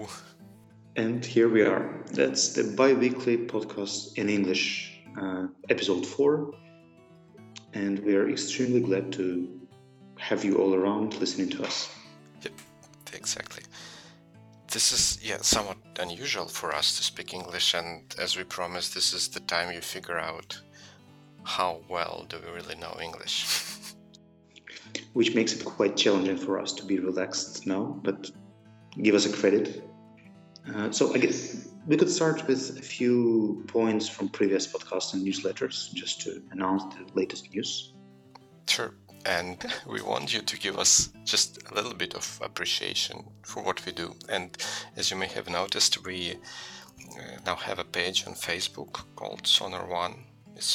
And here we are. That's the bi-weekly podcast in English, episode 4. And we are extremely glad to have you all around listening to us. Yep, exactly. This is, somewhat unusual for us to speak English, and as we promised, this is the time you figure out how well do we really know English. Which makes it quite challenging for us to be relaxed now, but give us a credit. So I guess we could start with a few points from previous podcasts and newsletters just to announce the latest news. Sure. And we want you to give us just a little bit of appreciation for what we do. And as you may have noticed, we now have a page on Facebook called Sonar1. It's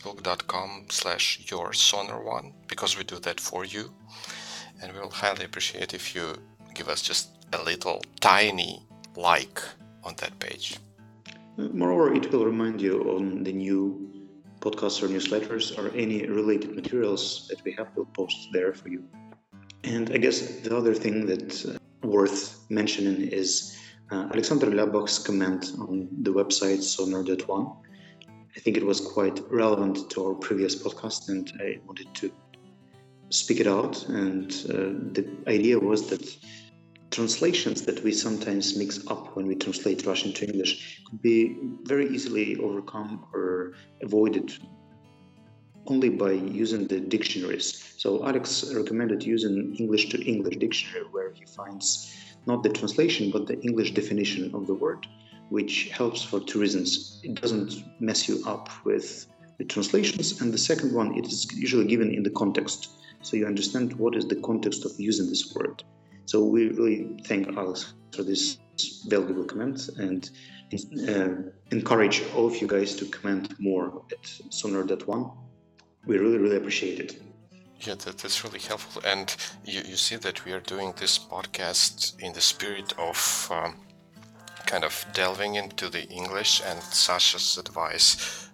facebook.com/yoursonar1, because we do that for you. And we'll highly appreciate if you give us just a little tiny like on that page. Moreover, it will remind you on the new podcasts or newsletters or any related materials that we have, we'll post there for you. And I guess the other thing that's worth mentioning is Alexander Labach's comment on the website sonar.one. I think it was quite relevant to our previous podcast, and I wanted to speak it out. And the idea was that translations that we sometimes mix up when we translate Russian to English could be very easily overcome or avoided only by using the dictionaries. So Alex recommended using English to English dictionary, where he finds not the translation but the English definition of the word, which helps for two reasons. It doesn't mess you up with the translations, and the second one, it is usually given in the context, so you understand what is the context of using this word. So we really thank Alex for this valuable comment and encourage all of you guys to comment more at sonar.one. We really, really appreciate it. Yeah, that's really helpful. And you see that we are doing this podcast in the spirit of kind of delving into the English, and Sasha's advice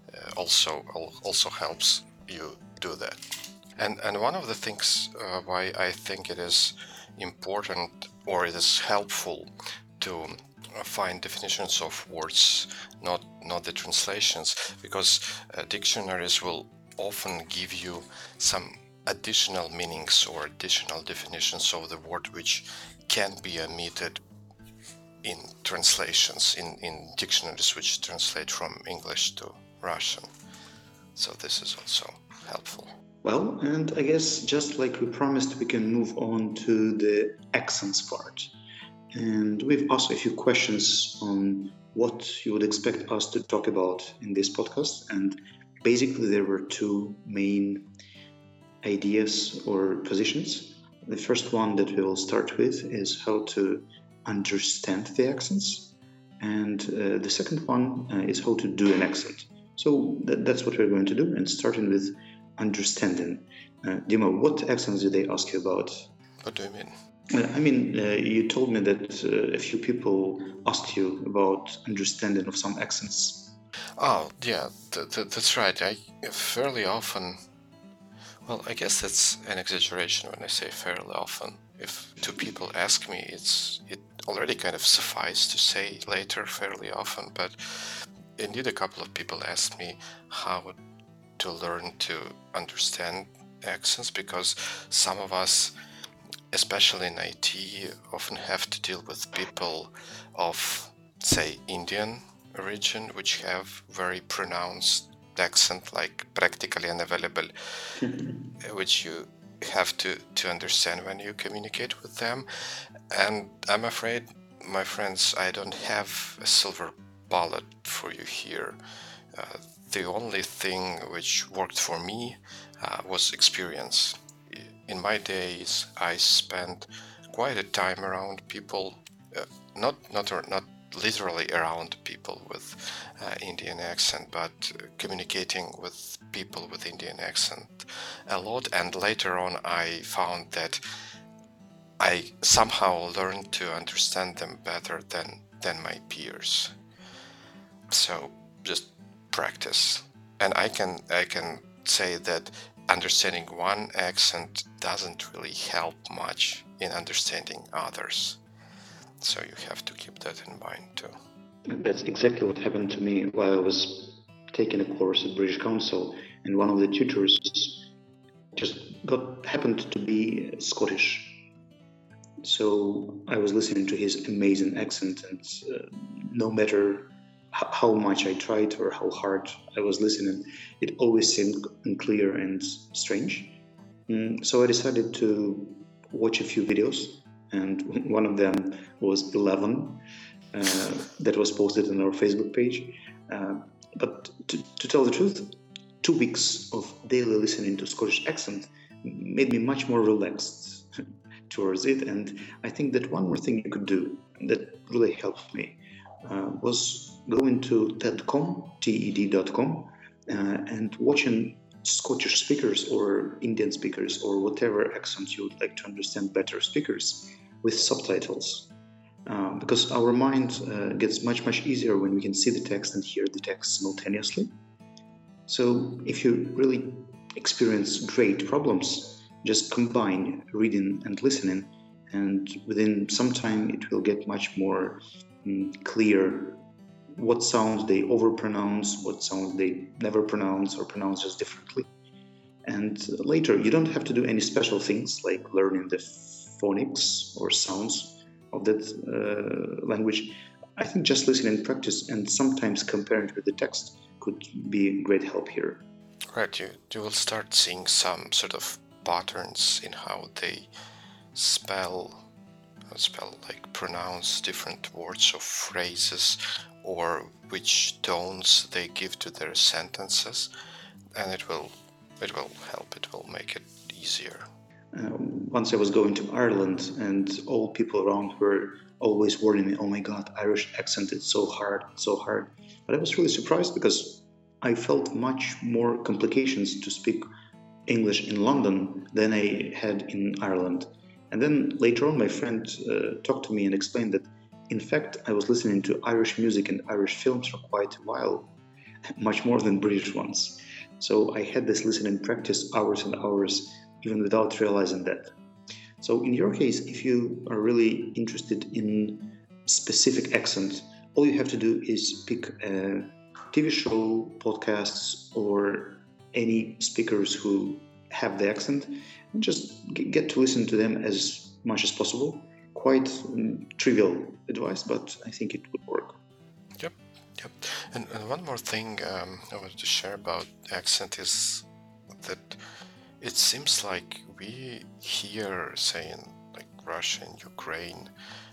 also helps you do that. And one of the things why I think it is important, or it is helpful to find definitions of words, not the translations, because dictionaries will often give you some additional meanings or additional definitions of the word which can be omitted in translations, in dictionaries which translate from English to Russian. So this is also helpful. Well, and I guess just like we promised, we can move on to the accents part. And we've asked a few questions on what you would expect us to talk about in this podcast. And basically, there were two main ideas or positions. The first one that we will start with is how to understand the accents. And the second one is how to do an accent. So that's what we're going to do. And starting with understanding. Dima, what accents did they ask you about? What do you mean? I mean, you told me that a few people asked you about understanding of some accents. Oh, yeah, that's right. I fairly often, well, I guess that's an exaggeration when I say fairly often. If two people ask me, it already kind of suffices to say later fairly often, but indeed a couple of people asked me how to learn to understand accents, because some of us, especially in IT, often have to deal with people of, say, Indian origin, which have very pronounced accent, like practically unavailable, which you have to understand when you communicate with them. And I'm afraid, my friends, I don't have a silver bullet for you here. The only thing which worked for me was experience. In my days, I spent quite a time around people, not literally around people with Indian accent, but communicating with people with Indian accent a lot. And later on, I found that I somehow learned to understand them better than my peers. So just practice. And I can say that understanding one accent doesn't really help much in understanding others. So you have to keep that in mind too. That's exactly what happened to me while I was taking a course at British Council, and one of the tutors just happened to be Scottish. So I was listening to his amazing accent, and no matter how much I tried or how hard I was listening, it always seemed unclear and strange. So I decided to watch a few videos, and one of them was 11 that was posted on our Facebook page. But to tell the truth, 2 weeks of daily listening to Scottish accent made me much more relaxed towards it. And I think that one more thing you could do that really helped me was going to TED.com, and watching Scottish speakers or Indian speakers or whatever accent you would like to understand better speakers with subtitles. Because our mind gets much easier when we can see the text and hear the text simultaneously. So if you really experience great problems, just combine reading and listening, and within some time it will get much more clear what sounds they overpronounce, what sounds they never pronounce or pronounce just differently. And later, you don't have to do any special things like learning the phonics or sounds of that language. I think just listening and practice and sometimes comparing it with the text could be great help here. Right, you will start seeing some sort of patterns in how they pronounce different words or phrases, or which tones they give to their sentences, and it will help. It will make it easier. Once I was going to Ireland, and all people around were always warning me, "Oh my God, Irish accent, it's so hard, so hard." But I was really surprised because I felt much more complications to speak English in London than I had in Ireland. And then later on, my friend talked to me and explained that, in fact, I was listening to Irish music and Irish films for quite a while, much more than British ones. So I had this listening practice hours and hours, even without realizing that. So in your case, if you are really interested in specific accent, all you have to do is pick a TV show, podcasts, or any speakers who have the accent, and just get to listen to them as much as possible. Quite trivial advice, but I think it would work. Yep. And one more thing I wanted to share about accent is that it seems like we here, say in like Russia and Ukraine,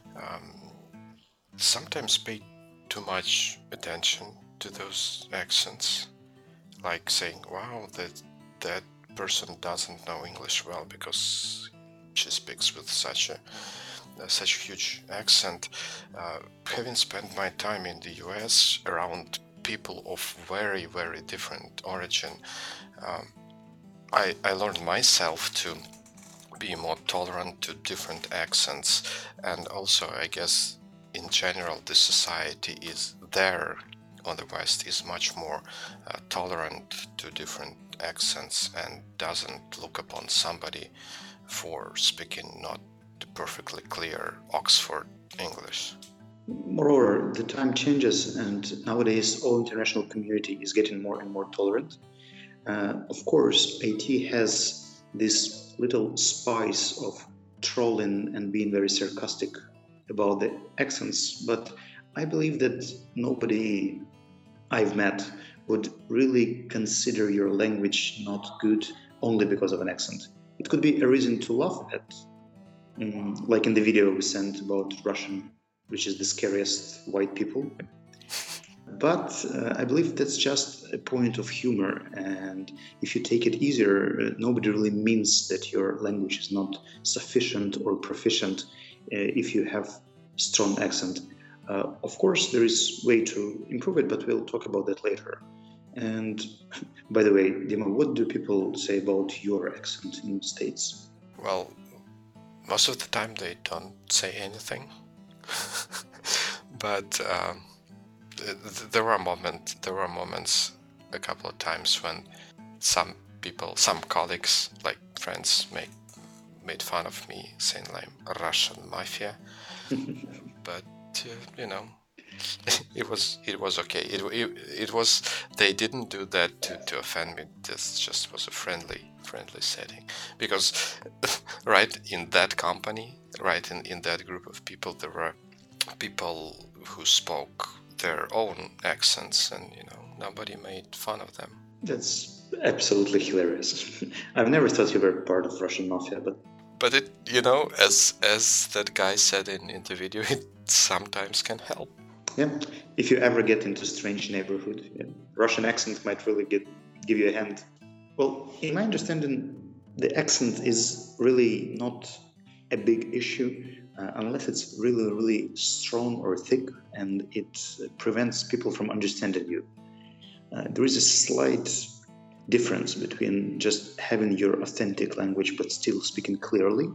sometimes pay too much attention to those accents, like saying, "Wow, that person doesn't know English well because she speaks with such a huge accent." Having spent my time in the US around people of very different origin, I learned myself to be more tolerant to different accents, and also I guess in general the society is there on the West is much more tolerant to different accents and doesn't look upon somebody for speaking not perfectly clear Oxford English. Moreover, the time changes, and nowadays all international community is getting more and more tolerant. Of course, IT has this little spice of trolling and being very sarcastic about the accents, but I believe that nobody I've met would really consider your language not good only because of an accent. It could be a reason to laugh at, like in the video we sent about Russian, which is the scariest white people. But I believe that's just a point of humor, and if you take it easier, nobody really means that your language is not sufficient or proficient if you have strong accent. Of course, there is way to improve it, but we'll talk about that later. And by the way, Dima, what do people say about your accent in the States? Well, most of the time they don't say anything, but there were moments a couple of times when some colleagues, like friends, made fun of me, saying like Russian mafia. but it was okay. It was they didn't do that to offend me. This just was a friendly setting, because right in that company, right in that group of people, there were people who spoke their own accents, and nobody made fun of them. That's absolutely hilarious. I've never thought you were part of Russian mafia, but it, as that guy said in the video, it sometimes can help. Yeah, if you ever get into strange neighborhood, yeah, Russian accent might really give you a hand. Well, in my understanding, the accent is really not a big issue unless it's really, really strong or thick, and it prevents people from understanding you. There is a slight difference between just having your authentic language but still speaking clearly.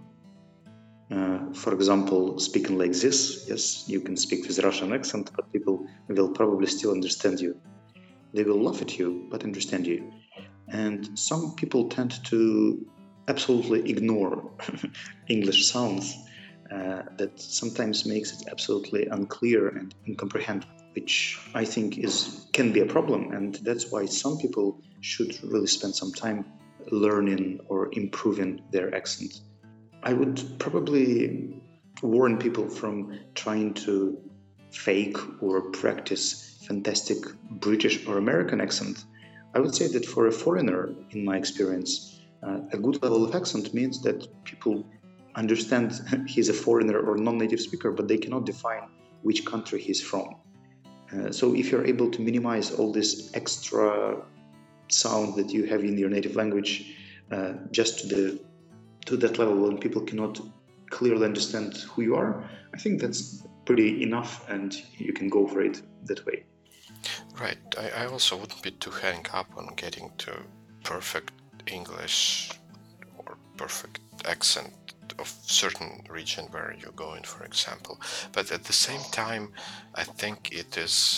For example, speaking like this, yes, you can speak with Russian accent, but people will probably still understand you. They will laugh at you, but understand you. And some people tend to absolutely ignore English sounds that sometimes makes it absolutely unclear and incomprehensible, which I think can be a problem. And that's why some people should really spend some time learning or improving their accent. I would probably warn people from trying to fake or practice fantastic British or American accent. I would say that for a foreigner, in my experience, a good level of accent means that people understand he's a foreigner or non-native speaker, but they cannot define which country he's from. So if you're able to minimize all this extra sound that you have in your native language just to that level when people cannot clearly understand who you are, I think that's pretty enough, and you can go for it that way. Right. I also wouldn't be too hung up on getting to perfect English or perfect accent of certain region where you're going, for example. But at the same time, I think it is,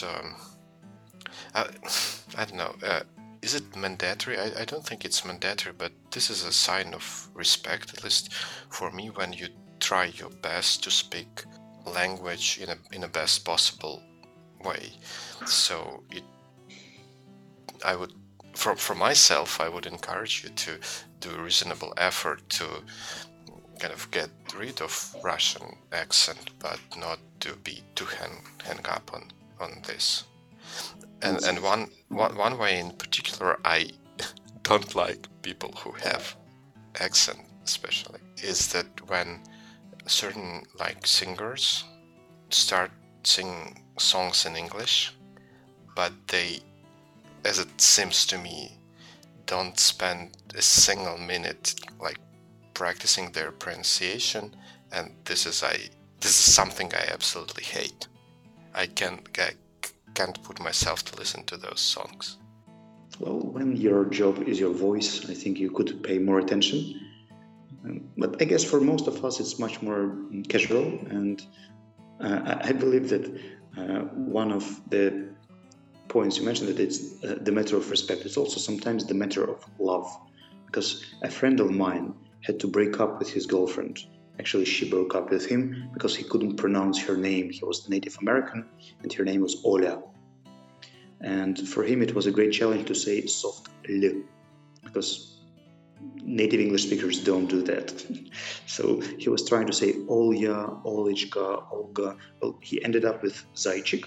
I don't know, is it mandatory? I don't think it's mandatory, but this is a sign of respect, at least for me, when you try your best to speak language in a best possible way. So I would, for myself, I would encourage you to do a reasonable effort to kind of get rid of Russian accent, but not to be too hang up on this. And one way in particular I don't like people who have accent, especially, is that when certain singers start singing songs in English, but they, as it seems to me, don't spend a single minute practicing their pronunciation, and this is something I absolutely hate. I can't put myself to listen to those songs. Well, when your job is your voice, I think you could pay more attention. But I guess for most of us, it's much more casual, and I believe that one of the points you mentioned, that it's the matter of respect. It's also sometimes the matter of love, because a friend of mine had to break up with his girlfriend. Actually, she broke up with him because he couldn't pronounce her name. He was Native American, and her name was Oля. And for him, it was a great challenge to say soft L, because native English speakers don't do that. So he was trying to say Olya, Olichka, Olga. Well, he ended up with Zaychik,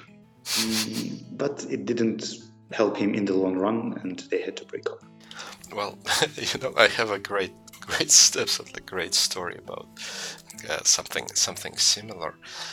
but it didn't help him in the long run, and they had to break up. Well, I have a great absolutely great story about something similar.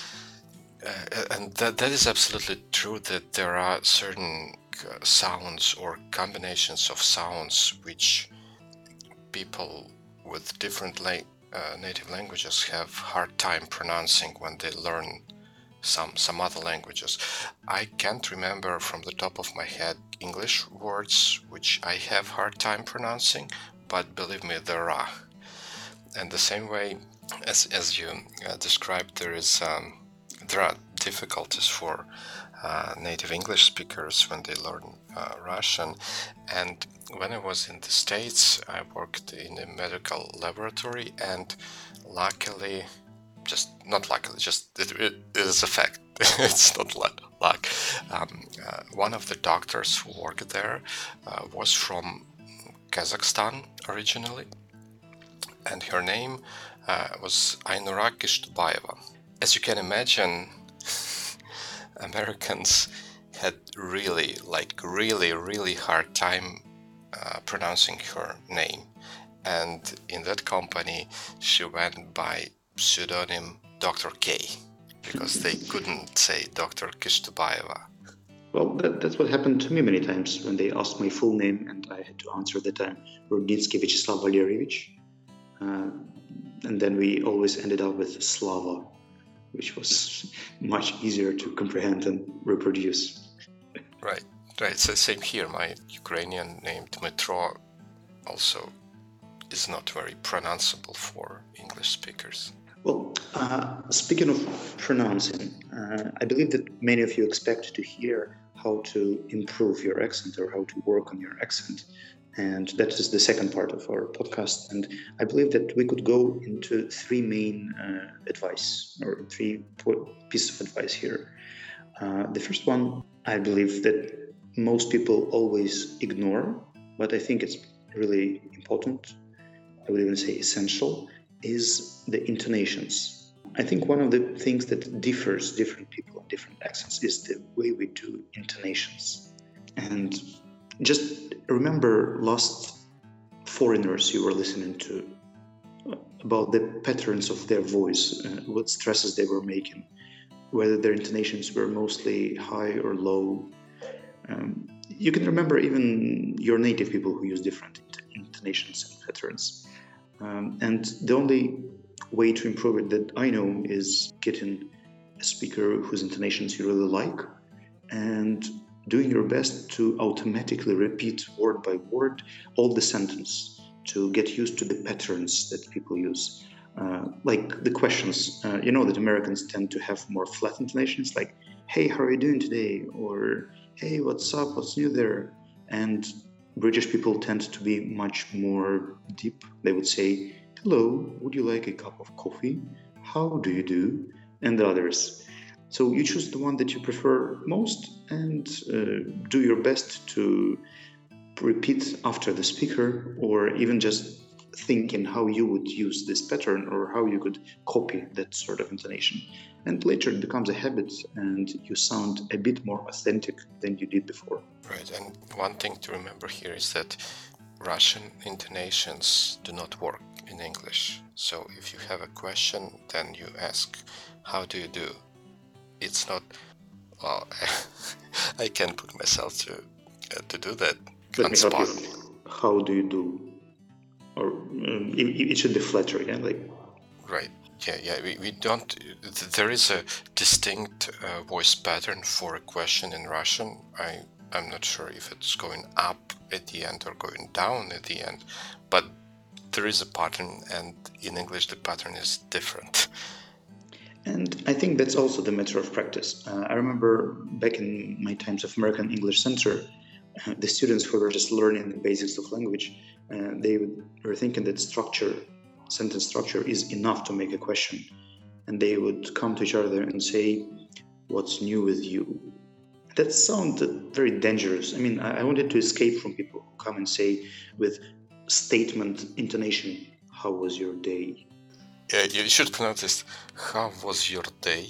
And that is absolutely true, that there are certain sounds or combinations of sounds which people with different native languages have hard time pronouncing when they learn some other languages. I can't remember from the top of my head English words which I have hard time pronouncing, but believe me, there are. And the same way as you described, there are difficulties for native English speakers when they learn Russian. And when I was in the States, I worked in a medical laboratory, and luckily just not luckily, just it is a fact. It's not luck. One of the doctors who worked there was from Kazakhstan originally, and her name was Ainura Kishtubayeva. As you can imagine, Americans had really hard time pronouncing her name. And in that company, she went by pseudonym Dr. K, because they couldn't say Dr. Kishtubayeva. Well, that's what happened to me many times when they asked my full name and I had to answer that I'm Rudnitsky Vyacheslav Valerievich. And then we always ended up with Slava, which was much easier to comprehend and reproduce. Right. So same here. My Ukrainian name Dmitro also is not very pronounceable for English speakers. Well, speaking of pronouncing, I believe that many of you expect to hear how to improve your accent or how to work on your accent. And that is the second part of our podcast. And I believe that we could go into three main advice or three pieces of advice here. The first one, I believe that most people always ignore, but I think it's really important, I would even say essential, is the intonations. I think one of the things that differs different people and different accents is the way we do intonations. And just remember last foreigners you were listening to about the patterns of their voice, what stresses they were making, whether their intonations were mostly high or low. You can remember even your native people who use different intonations and patterns. And the only way to improve it that I know is getting a speaker whose intonations you really like and doing your best to automatically repeat word by word all the sentence to get used to the patterns that people use. Like the questions, that Americans tend to have more flat intonations, like, hey, how are you doing today? Or, hey, what's up? What's new there? And British people tend to be much more deep. They would say, hello, would you like a cup of coffee? How do you do? And the others. So you choose the one that you prefer most and do your best to repeat after the speaker, or even just thinking how you would use this pattern or how you could copy that sort of intonation. And later it becomes a habit and you sound a bit more authentic than you did before. Right, and one thing to remember here is that Russian intonations do not work in English. So if you have a question, then you ask, how do you do? It's not, well, I can put myself to do that. Let me help you. How do you do? Or it should be flatter, yeah? Right. Yeah. We don't. There is a distinct voice pattern for a question in Russian. I'm not sure if it's going up at the end or going down at the end, but there is a pattern, and in English the pattern is different. And I think that's also the matter of practice. I remember back in my times of American English Center, the students who were just learning the basics of language, they were thinking that sentence structure is enough to make a question. And they would come to each other and say, what's new with you? That sounded very dangerous. I mean, I wanted to escape from people who come and say with statement intonation, how was your day? Yeah, you should pronounce this, how was your day?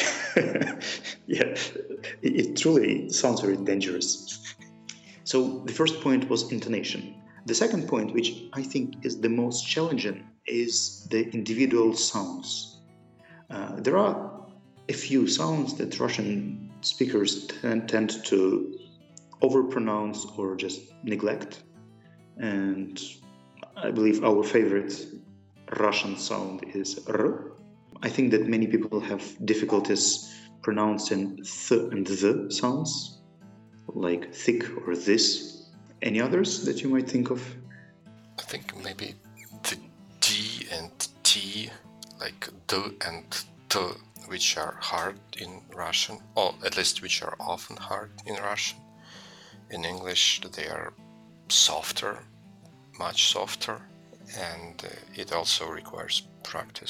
Yeah, it truly sounds very dangerous. So the first point was intonation. The second point, which I think is the most challenging, is the individual sounds. There are a few sounds that Russian speakers tend to overpronounce or just neglect. And I believe our favorite Russian sound is R. I think that many people have difficulties pronouncing th and the sounds, like thick or this. Any others that you might think of? I think maybe the D and T, like D and T, which are hard in Russian, or at least which are often hard in Russian. In English, they are softer, much softer, and it also requires practice.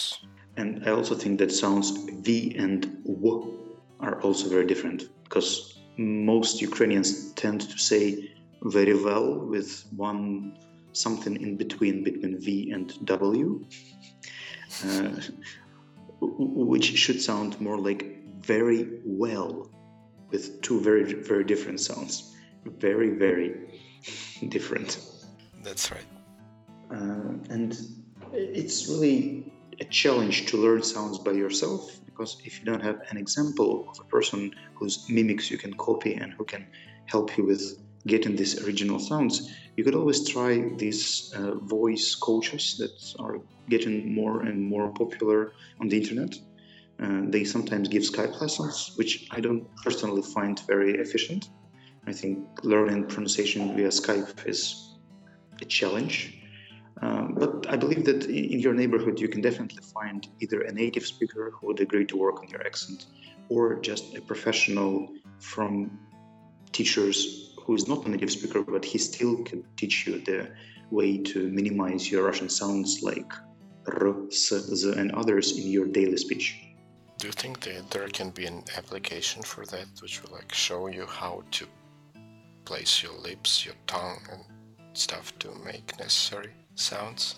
And I also think that sounds V and W are also very different, because most Ukrainians tend to say very well with one something in between V and W, uh, which should sound more like very well, with two very, very different sounds. Very, very different. That's right. And it's really a challenge to learn sounds by yourself, because if you don't have an example of a person whose mimics you can copy and who can help you with getting these original sounds, you could always try these voice coaches that are getting more and more popular on the internet. They sometimes give Skype lessons, which I don't personally find very efficient. I think learning pronunciation via Skype is a challenge. But I believe that in your neighborhood, you can definitely find either a native speaker who would agree to work on your accent, or just a professional from teachers who is not a native speaker, but he still can teach you the way to minimize your Russian sounds like R, S, Z, and others in your daily speech. Do you think that there can be an application for that, which will like show you how to place your lips, your tongue, and stuff to make necessary sounds?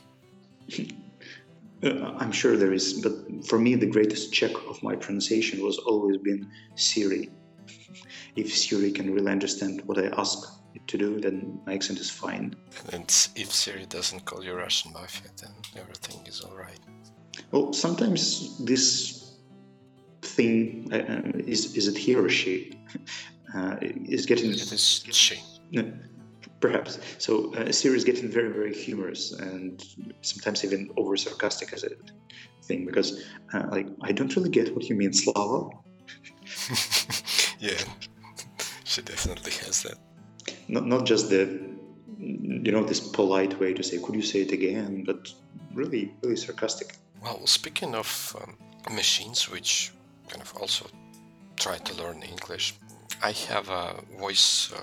I'm sure there is, but for me, the greatest check of my pronunciation was always been Siri. If Siri can really understand what I ask it to do, then my accent is fine. And if Siri doesn't call you Russian mafia, then everything is all right. Well, sometimes this thing, is it he or she, is getting... It is she. Perhaps. So Siri is getting very, very humorous and sometimes even over sarcastic as a thing, because I don't really get what you mean, Slava. Yeah, she definitely has that. Not just this polite way to say, could you say it again, but really, really sarcastic. Well, speaking of machines which kind of also try to learn English, I have a voice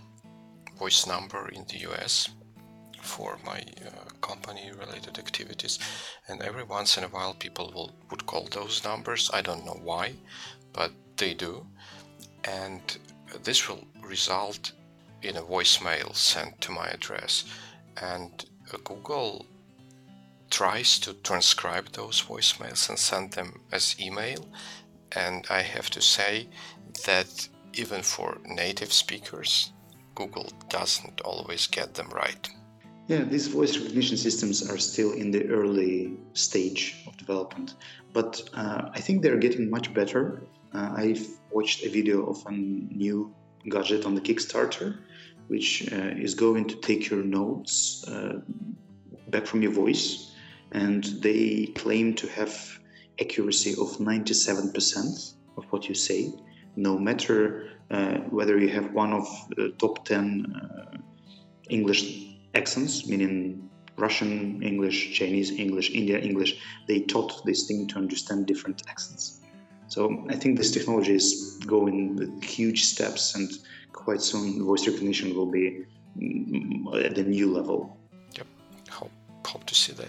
number in the US for my company-related activities, and every once in a while people would call those numbers. I don't know why, but they do, and this will result in a voicemail sent to my address, and Google tries to transcribe those voicemails and send them as email, and I have to say that even for native speakers, Google doesn't always get them right. Yeah, these voice recognition systems are still in the early stage of development, but I think they're getting much better. I've watched a video of a new gadget on the Kickstarter, which is going to take your notes back from your voice, and they claim to have accuracy of 97% of what you say, no matter whether you have one of the top 10 English accents, meaning Russian English, Chinese English, India English. They taught this thing to understand different accents. So I think this technology is going with huge steps, and quite soon voice recognition will be at a new level. Yep, hope to see that.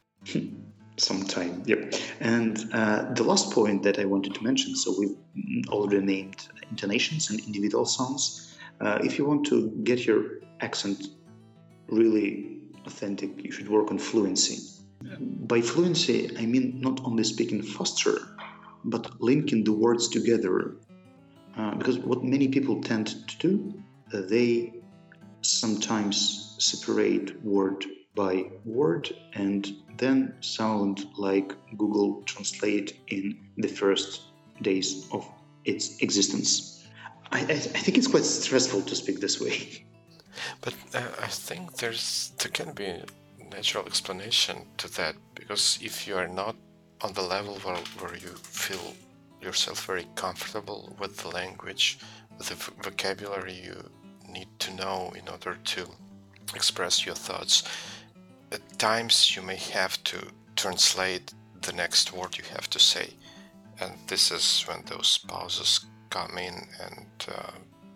Sometime, yep. And the last point that I wanted to mention, so we've already named intonations and individual sounds. If you want to get your accent really authentic, you should work on fluency. By fluency, I mean not only speaking faster, but linking the words together. Because what many people tend to do, they sometimes separate word by word and then sound like Google Translate in the first days of its existence. I think it's quite stressful to speak this way. But I think there can be a natural explanation to that, because if you are not on the level where you feel yourself very comfortable with the language, with the vocabulary you need to know in order to express your thoughts, at times you may have to translate the next word you have to say, and this is when those pauses come in, and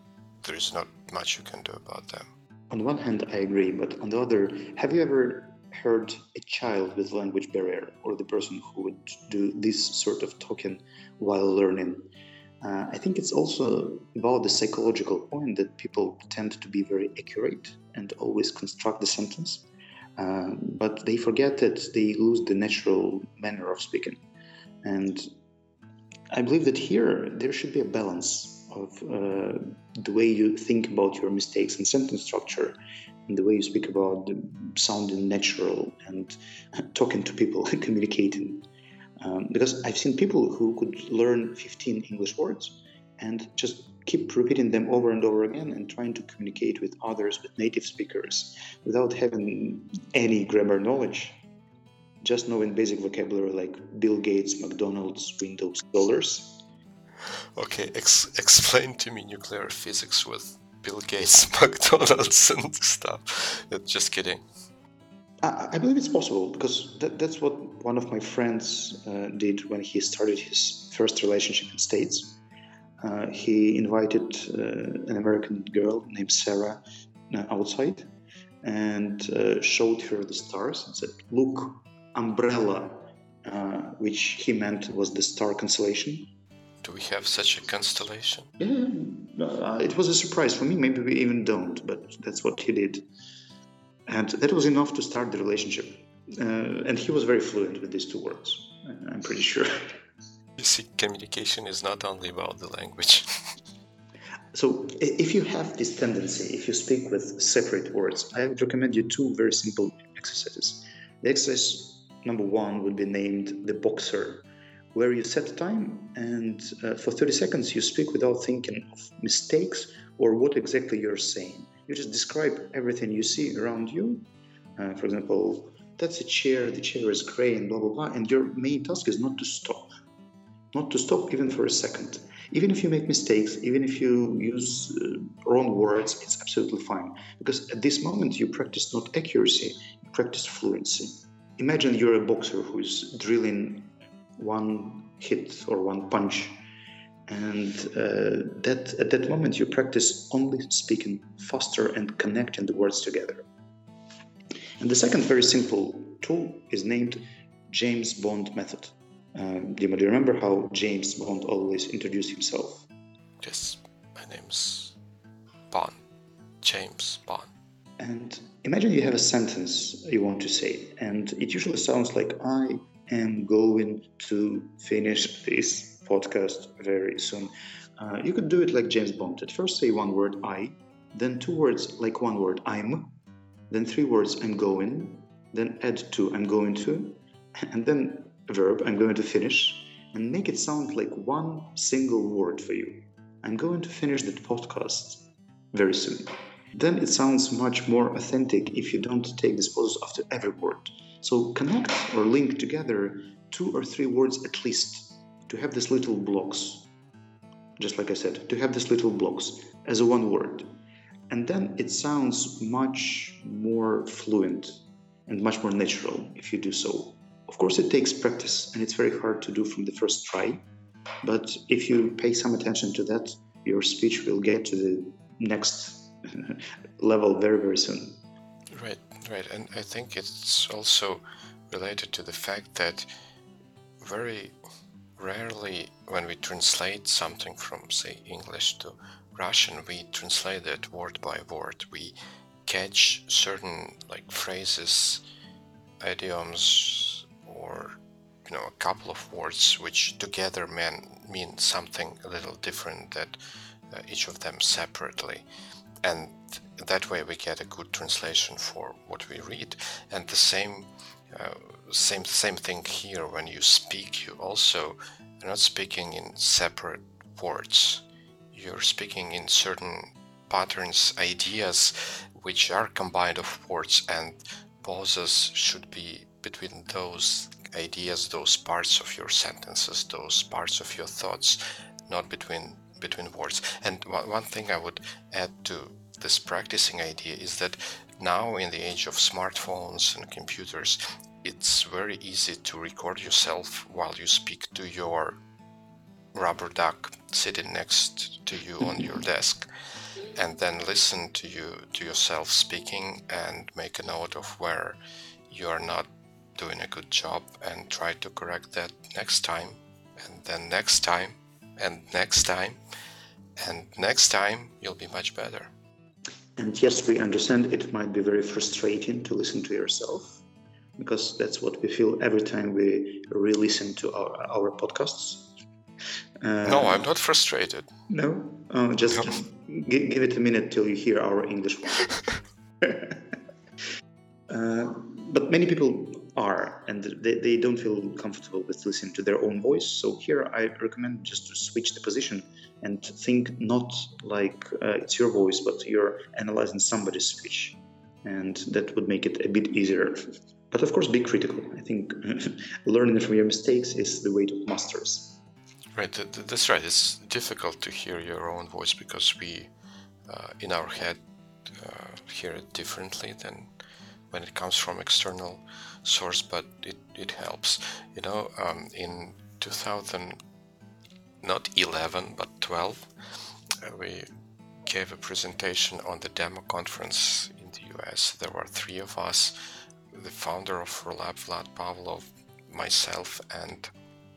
there is not much you can do about them. On one hand, I agree, but on the other, have you ever heard a child with language barrier or the person who would do this sort of talking while learning. I think it's also about the psychological point that people tend to be very accurate and always construct the sentence, but they forget that they lose the natural manner of speaking. And I believe that here there should be a balance of the way you think about your mistakes and sentence structure, and the way you speak about sounding natural and talking to people, communicating. Because I've seen people who could learn 15 English words and just keep repeating them over and over again and trying to communicate with others, with native speakers, without having any grammar knowledge, just knowing basic vocabulary like Bill Gates, McDonald's, Windows, dollars. Okay, explain to me nuclear physics with Bill Gates, McDonald's, and stuff. Just kidding. I believe it's possible because that's what one of my friends did when he started his first relationship in States. He invited an American girl named Sarah outside and showed her the stars and said, "Look, umbrella," which he meant was the star constellation. Do we have such a constellation? Yeah, it was a surprise for me. Maybe we even don't, but that's what he did. And that was enough to start the relationship. And he was very fluent with these two words, I'm pretty sure. You see, communication is not only about the language. So if you have this tendency, if you speak with separate words, I would recommend you two very simple exercises. The exercise number one would be named the boxer, where you set time and for 30 seconds you speak without thinking of mistakes or what exactly you're saying. You just describe everything you see around you. For example, that's a chair, the chair is gray and blah, blah, blah. And your main task is not to stop even for a second. Even if you make mistakes, even if you use wrong words, it's absolutely fine. Because at this moment you practice not accuracy, you practice fluency. Imagine you're a boxer who's drilling one hit or one punch. And at that moment, you practice only speaking faster and connecting the words together. And the second very simple tool is named James Bond method. Dima, do you remember how James Bond always introduced himself? Yes, my name's Bond. James Bond. And imagine you have a sentence you want to say, and it usually sounds like, "I am going to finish this podcast very soon." You could do it like James Bond. At first say one word, "I," then two words like one word, "I'm," then three words, "I'm going," then add two, "I'm going to," and then a verb, "I'm going to finish," and make it sound like one single word for you. "I'm going to finish that podcast very soon." Then it sounds much more authentic if you don't take this pause after every word. So connect or link together two or three words at least to have these little blocks. Just like I said, to have these little blocks as a one word. And then it sounds much more fluent and much more natural if you do so. Of course, it takes practice and it's very hard to do from the first try. But if you pay some attention to that, your speech will get to the next level very, very soon. Right. And I think it's also related to the fact that very rarely when we translate something from, say, English to Russian, we translate it word by word. We catch certain phrases, idioms, or a couple of words which together mean something a little different that each of them separately. And that way we get a good translation for what we read. And the same thing here. When you speak, you're not speaking in separate words. You're speaking in certain patterns, ideas, which are combined of words, and pauses should be between those ideas, those parts of your sentences, those parts of your thoughts, not between words. And one thing I would add to this practicing idea is that now in the age of smartphones and computers, it's very easy to record yourself while you speak to your rubber duck sitting next to you on your desk, and then listen to yourself speaking and make a note of where you are not doing a good job, and try to correct that next time, and then next time, and next time, and next time you'll be much better. And yes, we understand it might be very frustrating to listen to yourself, because that's what we feel every time we re-listen to our podcasts. No, I'm not frustrated. No? Just give it a minute till you hear our English one. But many people are, and they don't feel comfortable with listening to their own voice. So here I recommend just to switch the position and think not like it's your voice, but you're analyzing somebody's speech. And that would make it a bit easier. But of course, be critical. I think learning from your mistakes is the way to masters. Right, that's right. It's difficult to hear your own voice because we, in our head, hear it differently than when it comes from external source, but it helps. In 2000, not 11, but 12, we gave a presentation on the demo conference in the US. There were 3 of us, the founder of Rolab, Vlad Pavlov, myself, and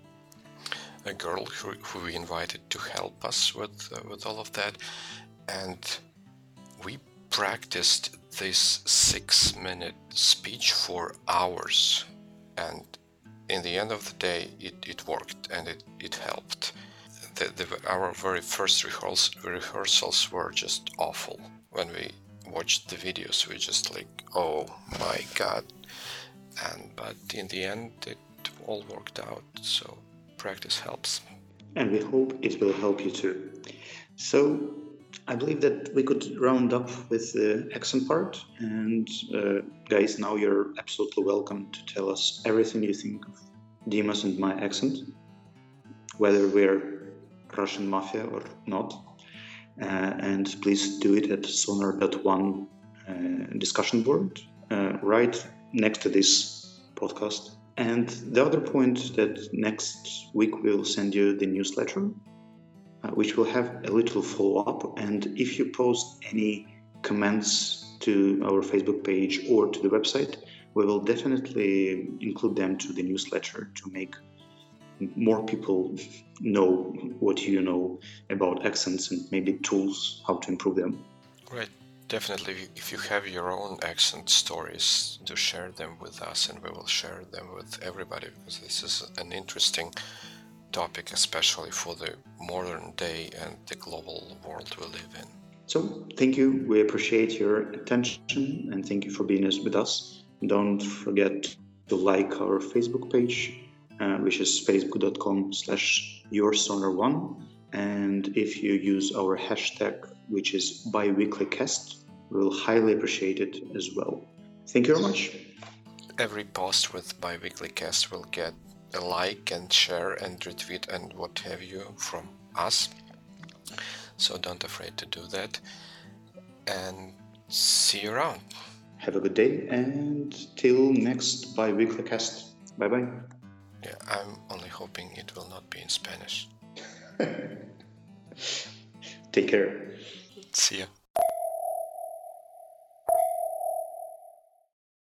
a girl who we invited to help us with all of that. And we practiced this 6-minute speech for hours, and in the end of the day it worked, and it helped. Our very first rehearsals were just awful. When we watched the videos, we just like, oh my god. But in the end it all worked out, so practice helps. And we hope it will help you too. So I believe that we could round up with the accent part. And guys, now you're absolutely welcome to tell us everything you think of Dimas and my accent, whether we're Russian mafia or not. And please do it at sonar.one discussion board right next to this podcast. And the other point that next week we'll send you the newsletter, which will have a little follow-up. And if you post any comments to our Facebook page or to the website, we will definitely include them to the newsletter to make more people know what you know about accents and maybe tools how to improve them. Right. Definitely, if you have your own accent stories, do share them with us, and we will share them with everybody, because this is an interesting topic, especially for the modern day and the global world we live in. So thank you. We appreciate your attention, and thank you for being with us. Don't forget to like our Facebook page, which is facebook.com/yoursonar1. And if you use our hashtag, which is biweeklycast, we'll highly appreciate it as well. Thank you very much. Every post with biweeklycast will get a like and share and retweet and what have you from us. So don't afraid to do that. And see you around. Have a good day, and till next biweeklycast. Bye-bye. Yeah, I'm only hoping it will not be in Spanish. Take care. See ya.